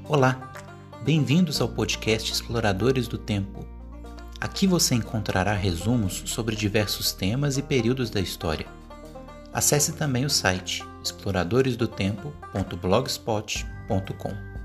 Olá, bem-vindos ao podcast Exploradores do Tempo. Aqui você encontrará resumos sobre diversos temas e períodos da história. Acesse também o site exploradoresdotempo.blogspot.com.